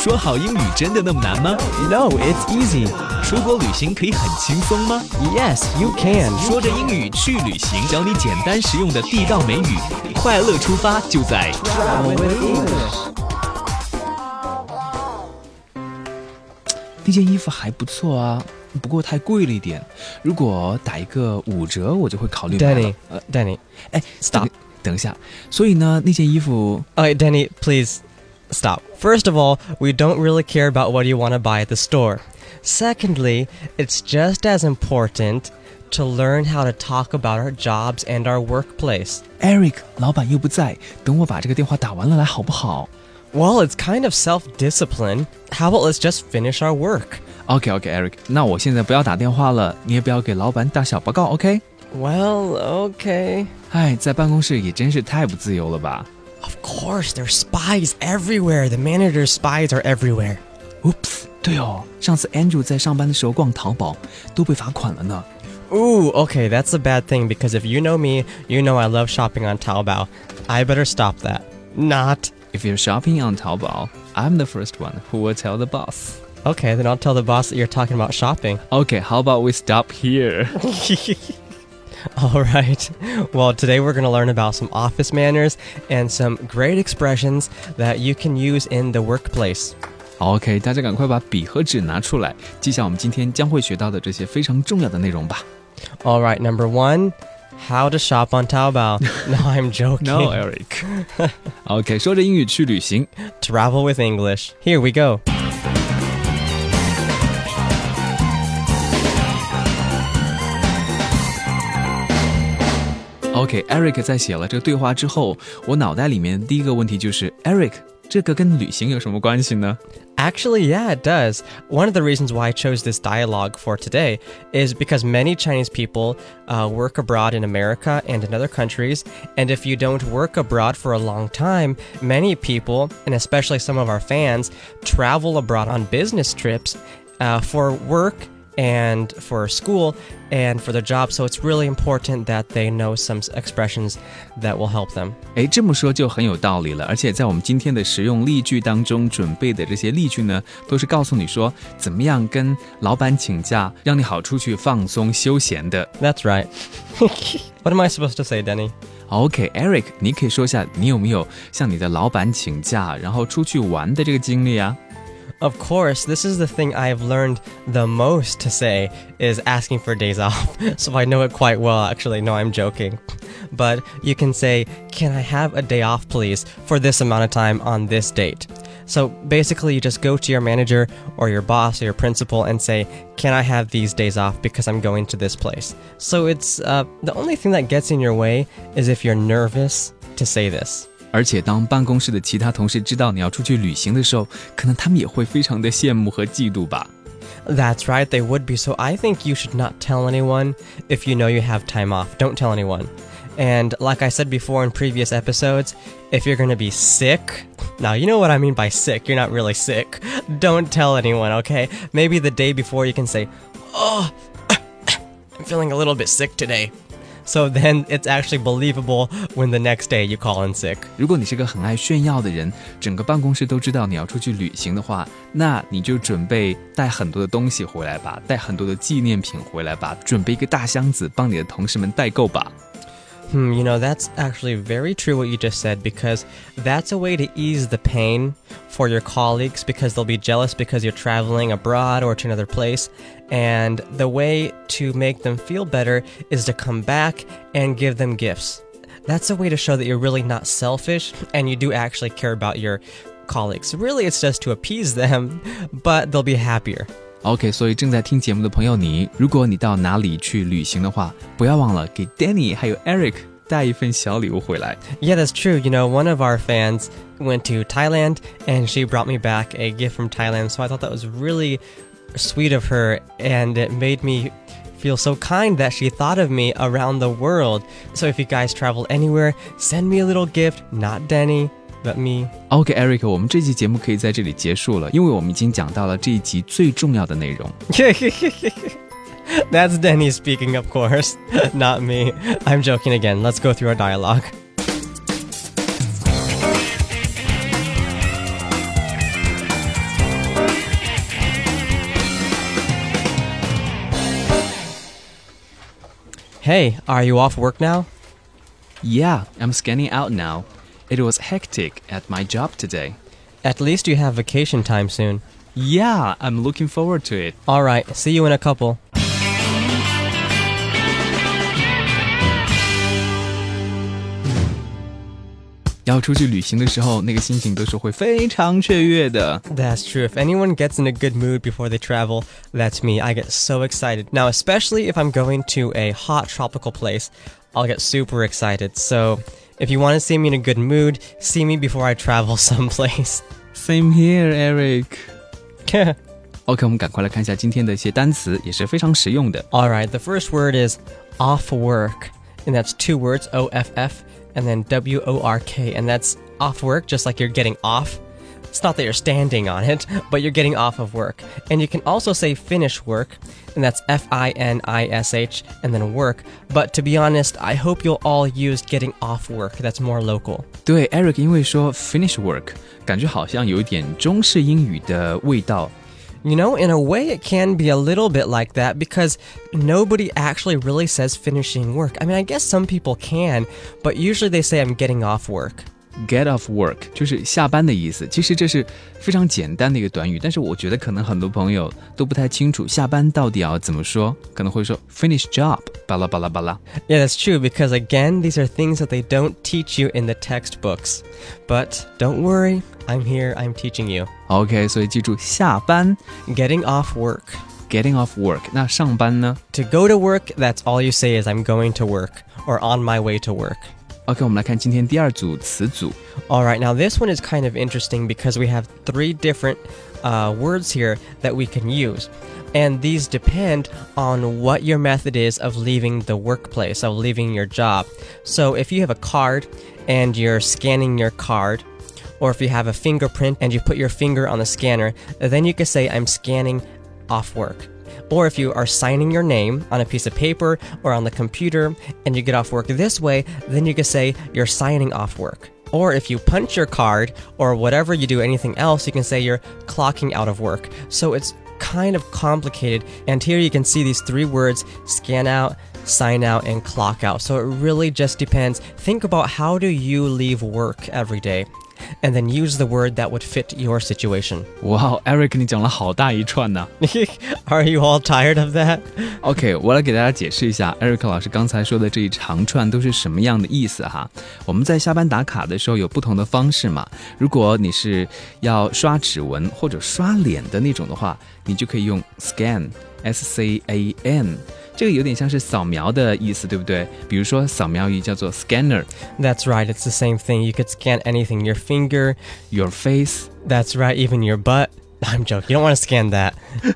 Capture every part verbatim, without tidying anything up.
说好英语真的那么难吗？ No, it's easy. 出国旅行可以很轻松吗？ Yes, you can. 说着英语去旅行，教你简单实用的地道美语，快乐出发就在 Travel with English. 那件衣服还不错啊，不过太贵了一点。如果打一个五折，我就会考虑买了。 Danny, uh, Danny, 哎 stop. 等一下，所以呢，那件衣服 Okay, Danny, please stop. First of all, we don't really care about what you want to buy at the store. Secondly, it's just as important to learn how to talk about our jobs and our workplace. Eric 老板又不在，等我把这个电话打完了来好不好？ Well, it's kind of self-discipline. How about let's just finish our work? OK OK Eric， 那我现在不要打电话了，你也不要给老板打小报告 OK？ Well, okay. 哎，在办公室也真是太不自由了吧。 Of course, there's spies everywhere. The manager's spies are everywhere. Oops， 对哦，上次 Andrew 在上班的时候逛淘宝都被罚款了呢。 Ooh, okay, that's a bad thing because if you know me, you know I love shopping on Taobao. I better stop that. Not. If you're shopping on Taobao, I'm the first one who will tell the boss. Okay, then I'll tell the boss that you're talking about shopping. Okay, how about we stop here? All right. Well, today we're going to learn about some office manners and some great expressions that you can use in the workplace. OK， 大家赶快把笔和纸拿出来，记下我们今天将会学到的这些非常重要的内容吧。 All right, number one, how to shop on Taobao. No, I'm joking. No, Eric. OK， 说着英语去旅行。 Travel with English. Here we go. OK，Eric 在写了这个对话之后，我脑袋里面第一个问题就是，Eric， 这个跟旅行有什么关系呢？ Actually, yeah, it does. One of the reasons why I chose this dialogue for today is because many Chinese people uh, work abroad in America and in other countries. And if you don't work abroad for a long time, many people, and especially some of our fans, travel abroad on business trips uh, for work and for school and for their job. So it's really important that they know some expressions that will help them. 诶，这么说就很有道理了。而且在我们今天的实用例句当中准备的这些例句呢，都是告诉你说怎么样跟老板请假，让你好出去放松休闲的。 That's right. What am I supposed to say, Denny? OK，Eric， 你可以说一下你有没有向你的老板请假，然后出去玩的这个经历啊？ Of course, this is the thing I've learned the most to say is asking for days off. So I know it quite well, actually. No, I'm joking. But you can say, can I have a day off, please, for this amount of time on this date? So basically, you just go to your manager or your boss or your principal and say, can I have these days off because I'm going to this place? So it's uh, the only thing that gets in your way is if you're nervous to say this. 而且当办公室的其他同事知道你要出去旅行的时候，可能他们也会非常的羡慕和嫉妒吧。 That's right, they would be. So I think you should not tell anyone if you know you have time off. Don't tell anyone. And like I said before in previous episodes, if you're going to be sick, now you know what I mean by sick, you're not really sick. Don't tell anyone, okay? Maybe the day before you can say, oh, I'm feeling a little bit sick today. So then it's actually believable when the next day you call in sick. 如果你是个很爱炫耀的人，整个办公室都知道你要出去旅行的话，那你就准备带很多的东西回来吧，带很多的纪念品回来吧，准备一个大箱子帮你的同事们代购吧。 Hmm, you know, that's actually very true what you just said, because that's a way to ease the pain for your colleagues because they'll be jealous because you're traveling abroad or to another place. And the way to make them feel better is to come back and give them gifts. That's a way to show that you're really not selfish and you do actually care about your colleagues. Really, it's just to appease them, but they'll be happier. OK， 所以正在听节目的朋友你，如果你到哪里去旅行的话，不要忘了给 Danny 还有 Eric 带一份小礼物回来。 Yeah, that's true. You know, one of our fans went to Thailand and she brought me back a gift from Thailand. So I thought that was really sweet of her, and it made me feel so kind that she thought of me around the world. So if you guys travel anywhere, send me a little gift, not Denny.But me. OK, Eric, 我们这期节目可以在这里结束了，因为我们已经讲到了这一集最重要的内容。 That's Denny speaking, of course, not me. I'm joking again. Let's go through our dialogue. Hey, are you off work now? Yeah, I'm scanning out now. It was hectic at my job today. At least you have vacation time soon. Yeah, I'm looking forward to it. All right, see you in a couple. 要出去旅行的时候，那个心情都是会非常雀跃的。 That's true. If anyone gets in a good mood before they travel, that's me. I get so excited. Now, especially if I'm going to a hot tropical place, I'll get super excited. So, if you want to see me in a good mood, see me before I travel someplace. Same here, Eric. OK, 我们赶快来看一下今天的一些单词，也是非常实用的。 All right, the first word is off work, and that's two words, O F F, and then W O R K, and that's off work, just like you're getting off. It's not that you're standing on it, but you're getting off of work. And you can also say finish work, and that's F I N I S H, and then work. But to be honest, I hope you'll all use getting off work. That's more local. 对 Eric 因为说 finish work 感觉好像有一点中式英语的味道。 You know, in a way, it can be a little bit like that because nobody actually really says finishing work. I mean, I guess some people can, but usually they say I'm getting off work. Get off work 就是下班的意思，其实这是非常简单的一个短语，但是我觉得可能很多朋友都不太清楚下班到底要怎么说，可能会说 finish job 巴拉巴拉巴拉。 Yeah, that's true because again, these are things that they don't teach you in the textbooks. But don't worry, I'm here, I'm teaching you. OK, 所以记住下班 Getting off work. getting off work， 那上班呢？ To go to work, that's all you say is I'm going to work or on my way to work. OK, 我们来看今天第二组词组。 All right, now this one is kind of interesting because we have three different uh, words here that we can use. And these depend on what your method is of leaving the workplace, of leaving your job. So if you have a card and you're scanning your card, or if you have a fingerprint and you put your finger on the scanner, then you can say, I'm scanning off work. Or if you are signing your name on a piece of paper or on the computer and you get off work this way, then you can say you're signing off work. Or if you punch your card or whatever you do, anything else, you can say you're clocking out of work. So it's kind of complicated. And here you can see these three words, scan out, sign out, and clock out. So it really just depends. Think about how do you leave work every day? And then use the word that would fit your situation. 哇 Eric 你讲了好大一串呢。 Are you all tired of that? OK, 我来给大家解释一下 Eric 老师刚才说的这一长串都是什么样的意思哈。我们在下班打卡的时候有不同的方式嘛，如果你是要刷指纹或者刷脸的那种的话，你就可以用 scan S C A N， 这个有点像是扫描的意思，对不对？比如说扫描仪叫做 scanner. That's right, it's the same thing. You could scan anything, your finger, your face. That's right, even your butt. I'm joking, you don't want to scan that.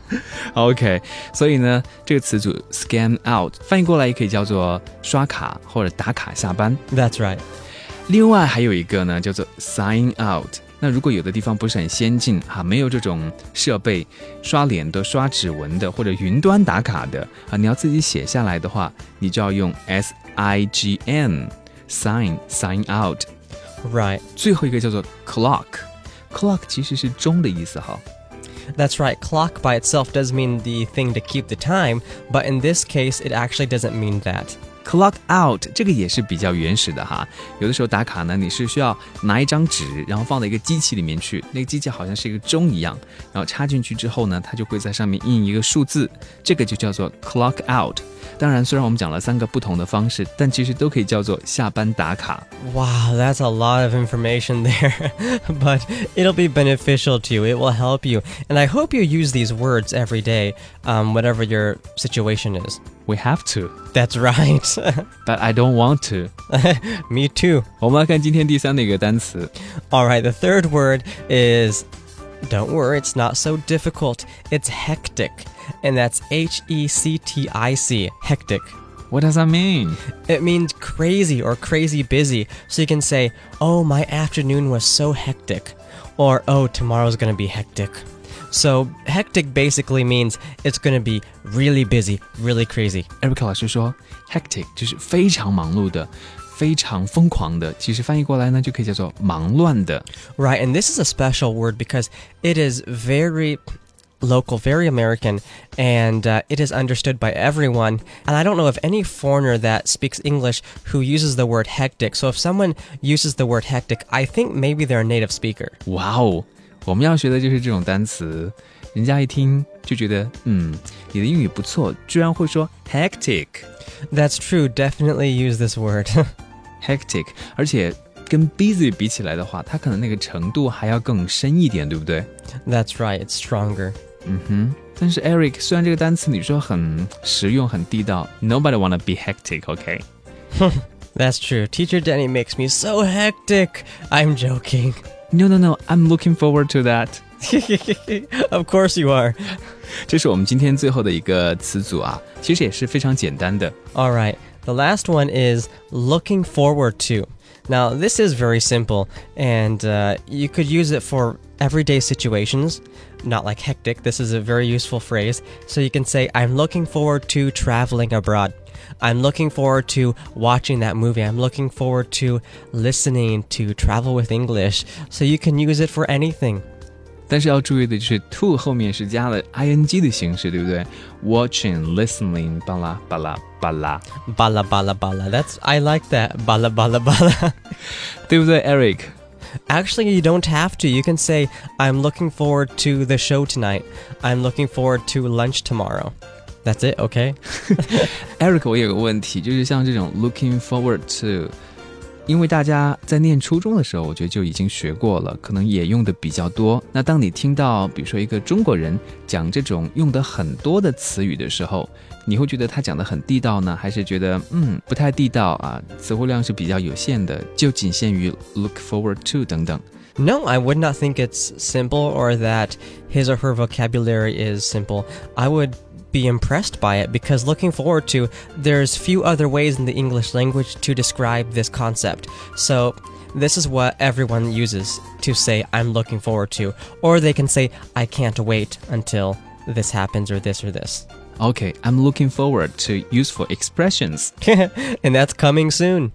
OK, 所以呢，这个词组 scan out 翻译过来也可以叫做刷卡或者打卡下班。 That's right. 另外还有一个呢，叫做 sign out。那如果有的地方不是很先进哈，没有这种设备，刷脸的、刷指纹的或者云端打卡的啊，你要自己写下来的话，你就要用 S I G N sign sign out。 Right. 最后一个叫做 clock clock 其实是钟的意思哈。 That's right, clock by itself does mean the thing to keep the time, but in this case, it actually doesn't mean that. Clock out 这个也是比较原始的哈，有的时候打卡呢，你是需要拿一张纸，然后放到一个机器里面去，那个机器好像是一个钟一样，然后插进去之后呢，它就会在上面印一个数字，这个就叫做 clock out。当然，虽然我们讲了三个不同的方式，但其实都可以叫做下班打卡。 Wow, that's a lot of information there, but it'll be beneficial to you. It will help you, and I hope you use these words every day, um, whatever your situation is. We have to, That's right. but I don't want to. Me too. 我们来看今天第三的一个单词。 All right, the third word is, don't worry, it's not so difficult. It's hectic, and that's H E C T I C, hectic. What does that mean? It means crazy or crazy busy. So you can say, oh, my afternoon was so hectic, or oh, tomorrow's gonna be hectic. So hectic basically means it's going to be really busy, really crazy. Eric 老师说 hectic 就是非常忙碌的，非常疯狂的，其实翻译过来呢就可以叫做忙乱的。 Right, and this is a special word because it is very local, very American, and uh, it is understood by everyone. And I don't know of any foreigner that speaks English who uses the word hectic. So if someone uses the word hectic, I think maybe they're a native speaker. 哇哦，我们要学的就是这种单词，人家一听就觉得，嗯，你的英语不错，居然会说 hectic。 That's true, definitely use this word. hectic， 而且跟 busy 比起来的话，它可能那个程度还要更深一点，对不对？ That's right, it's stronger. 嗯哼，但是 Eric， 虽然这个单词你说很实用、很地道 ，Nobody wanna be hectic, okay? That's true. Teacher Denny makes me so hectic. I'm joking. No, no, no. I'm looking forward to that. Of course you are. 这是我们今天最后的一个词组啊，其实也是非常简单的。 All right. The last one is looking forward to. Now, this is very simple, and uh, you could use it for everyday situations, not like hectic. This is a very useful phrase. So you can say, I'm looking forward to traveling abroad. I'm looking forward to watching that movie. I'm looking forward to listening to Travel with English. So you can use it for anything. 但是要注意的就是 to 后面是加了 ing 的形式，对不对？ Watching, listening, 巴拉巴拉巴拉 Bala bala bala. That's I like that. Bala bala bala. 对不对 Eric？ Actually, you don't have to. You can say, I'm looking forward to the show tonight. I'm looking forward to lunch tomorrow. That's it, okay? Eric， 我有个问题，就是像这种 looking forward to， 因为大家在念初中的时候，我觉得就已经学过了，可能也用的比较多。那当你听到比如说一个中国人讲这种用的很多的词语的时候，你会觉得他讲的很地道呢，还是觉得嗯不太地道啊？词汇量是比较有限的，就仅限于 look forward to 等等。 No, I would not think it's simple or that his or her vocabulary is simple. I would be impressed by it because looking forward to, there's few other ways in the English language to describe this concept. So this is what everyone uses to say I'm looking forward to, or they can say I can't wait until this happens or this or this. Okay, I'm looking forward to useful expressions. And that's coming soon.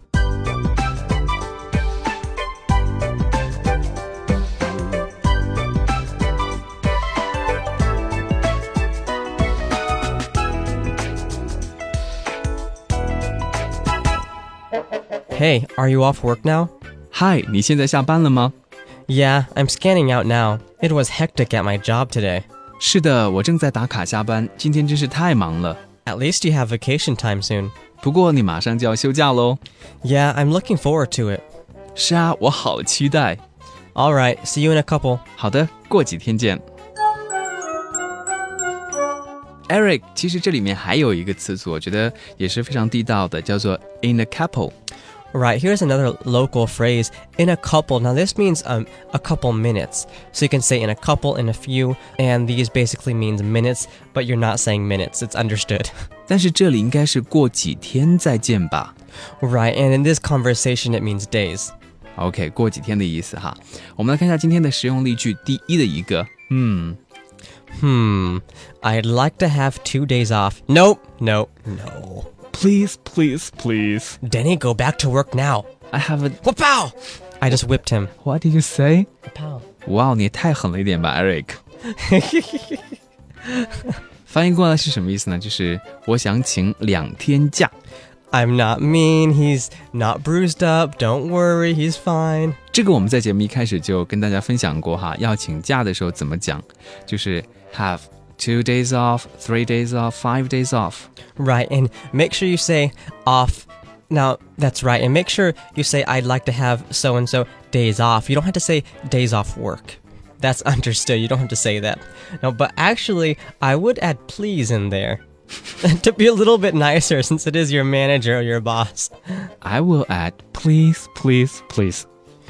Hey, are you off work now? Hi, 你现在下班了吗？ Yeah, I'm scanning out now. It was hectic at my job today. 是的，我正在打卡下班，今天真是太忙了。 At least you have vacation time soon. 不过你马上就要休假喽。 Yeah, I'm looking forward to it. 是啊，我好期待。 All right, see you in a couple. 好的，过几天见。Eric， 其实这里面还有一个词组，我觉得也是非常地道的，叫做 in a couple。 Right, here's another local phrase, in a couple. Now this means um, a couple minutes. So you can say in a couple, in a few, and these basically means minutes, but you're not saying minutes. It's understood. 但是这里应该是过几天再见吧。 Right, and in this conversation it means days. OK， 过几天的意思哈。我们来看一下今天的实用例句，第一的一个，嗯。 Hmm, I'd like to have two days off. Nope, nope, no. Please, please, please. Denny, go back to work now. I have a... Wapow! I just whipped him. What did you say? Wapow. 哇，你也太狠了一点吧 ，Eric。翻译过来是什么意思呢？就是我想请两天假。 I'm not mean, he's not bruised up, don't worry, he's fine. 这个我们在节目一开始就跟大家分享过哈，要请假的时候怎么讲，就是 have two days off, three days off, five days off. Right, and make sure you say off. Now, that's right, and make sure you say I'd like to have so-and-so days off. You don't have to say days off work. That's understood, you don't have to say that. No, but actually, I would add please in there. To be a little bit nicer since it is your manager or your boss. I will add please, please, please.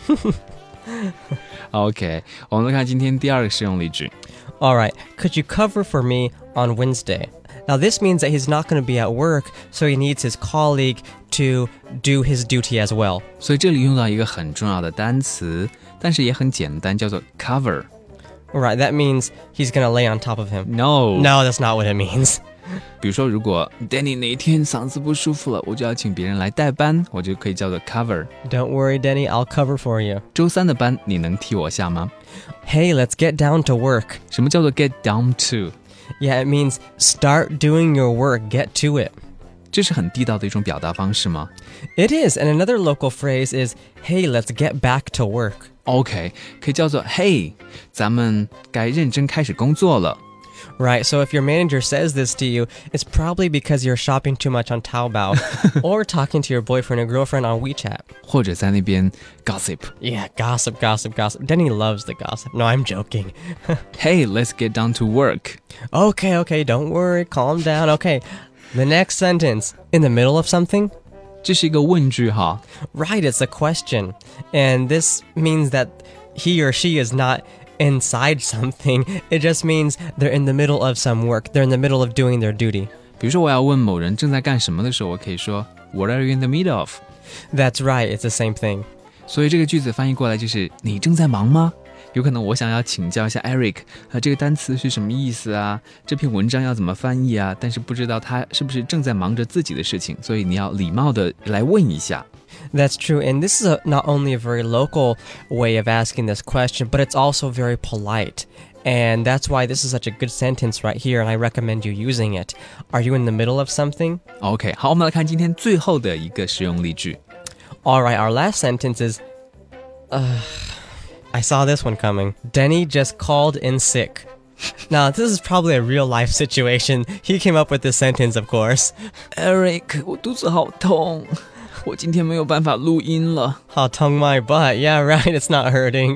OK， 我们来看今天第二个实用例句。 All right, could you cover for me on Wednesday? Now this means that he's not going to be at work, so he needs his colleague to do his duty as well. 所以这里用到一个很重要的单词，但是也很简单，叫做 cover。 Right, that means he's going to lay on top of him. No, No, that's not what it means. 比如说，如果 Danny 哪一天嗓子不舒服了，我就要请别人来代班，我就可以叫做 cover。 Don't worry, Denny, I'll cover for you. 周三的班你能替我下吗 Hey, let's get down to work. 什么叫做 get down to？ Yeah, it means start doing your work, get to it. 这是很地道的一种表达方式吗？ It is, and another local phrase is, hey, let's get back to work. OK， 可以叫做 Hey， 咱们该认真开始工作了。 Right, so if your manager says this to you, it's probably because you're shopping too much on Taobao or talking to your boyfriend or girlfriend on WeChat. 或者在那边 gossip。 Yeah, gossip, gossip, gossip. Denny loves the gossip. No, I'm joking. Hey, let's get down to work. Okay, okay, don't worry, calm down. Okay, the next sentence. In the middle of something? 这是一个问句哈。 Right, it's a question. And this means that he or she is not inside something. It just means they're in the middle of some work. They're in the middle of doing their duty. 比如说我要问某人正在干什么的时候，我可以说 What are you in the middle of? That's right, it's the same thing. 所以这个句子翻译过来就是你正在忙吗？有可能我想要请教一下 Eric 啊，这个单词是什么意思啊？这篇文章要怎么翻译啊？但是不知道他是不是正在忙着自己的事情，所以你要礼貌的来问一下。 That's true, and this is a, not only a very local way of asking this question, but it's also very polite. And that's why this is such a good sentence right here, and I recommend you using it. Are you in the middle of something? OK， 好，我们来看今天最后的一个实用例句。 All right, our last sentence is... Uh, I saw this one coming. Denny just called in sick. Now, this is probably a real-life situation. He came up with this sentence, of course. Eric， 我肚子好痛，我今天没有办法录音了。 I'll tongue my butt. Yeah, right, it's not hurting.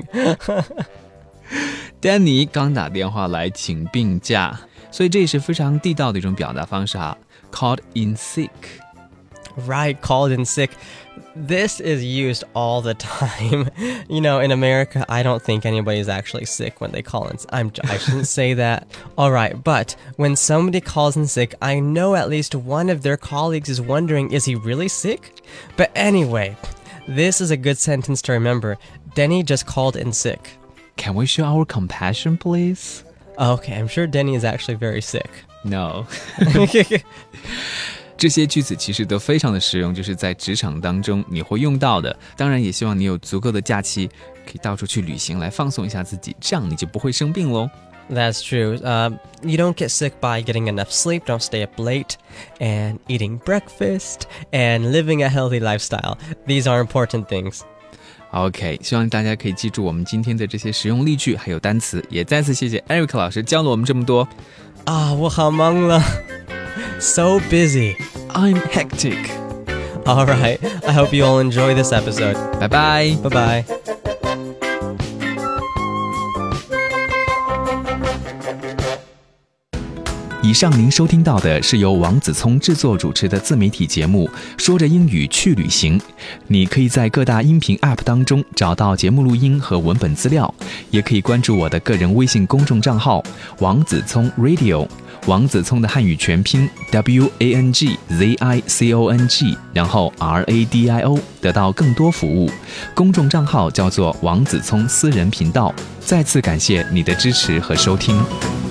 Danny 刚打电话来请病假，所以这也是非常地道的一种表达方式哈。Called in sick. Right, called in sick. This is used all the time. You know, in America, I don't think anybody's actually sick when they call in. I'm, I shouldn't say that. All right, but when somebody calls in sick, I know at least one of their colleagues is wondering, is he really sick? But anyway, this is a good sentence to remember. Denny just called in sick. Can we show our compassion, please? Okay, I'm sure Denny is actually very sick. No. 这些句子其实都非常的实用，就是在职场当中你会用到的。当然也希望你有足够的假期，可以到处去旅行来放松一下自己，这样你就不会生病咯。 That's true. Uh, you don't get sick by getting enough sleep, don't stay up late, and eating breakfast, and living a healthy lifestyle. These are important things. OK， 希望大家可以记住我们今天的这些实用例句还有单词，也再次谢谢 Eric 老师教了我们这么多。 Ah, 我好忙了. So busy. I'm hectic. All right. I hope you all enjoy this episode. 拜拜。 Bye-bye. 以上您收听到的是由王子聪制作主持的自媒体节目《说着英语去旅行》。你可以在各大音频 App 当中找到节目录音和文本资料，也可以关注我的个人微信公众账号王子聪 Radio， 王子聪的汉语全拼 W A N G Z I C O N G， 然后 R A D I O， 得到更多服务。公众账号叫做王子聪私人频道。再次感谢你的支持和收听。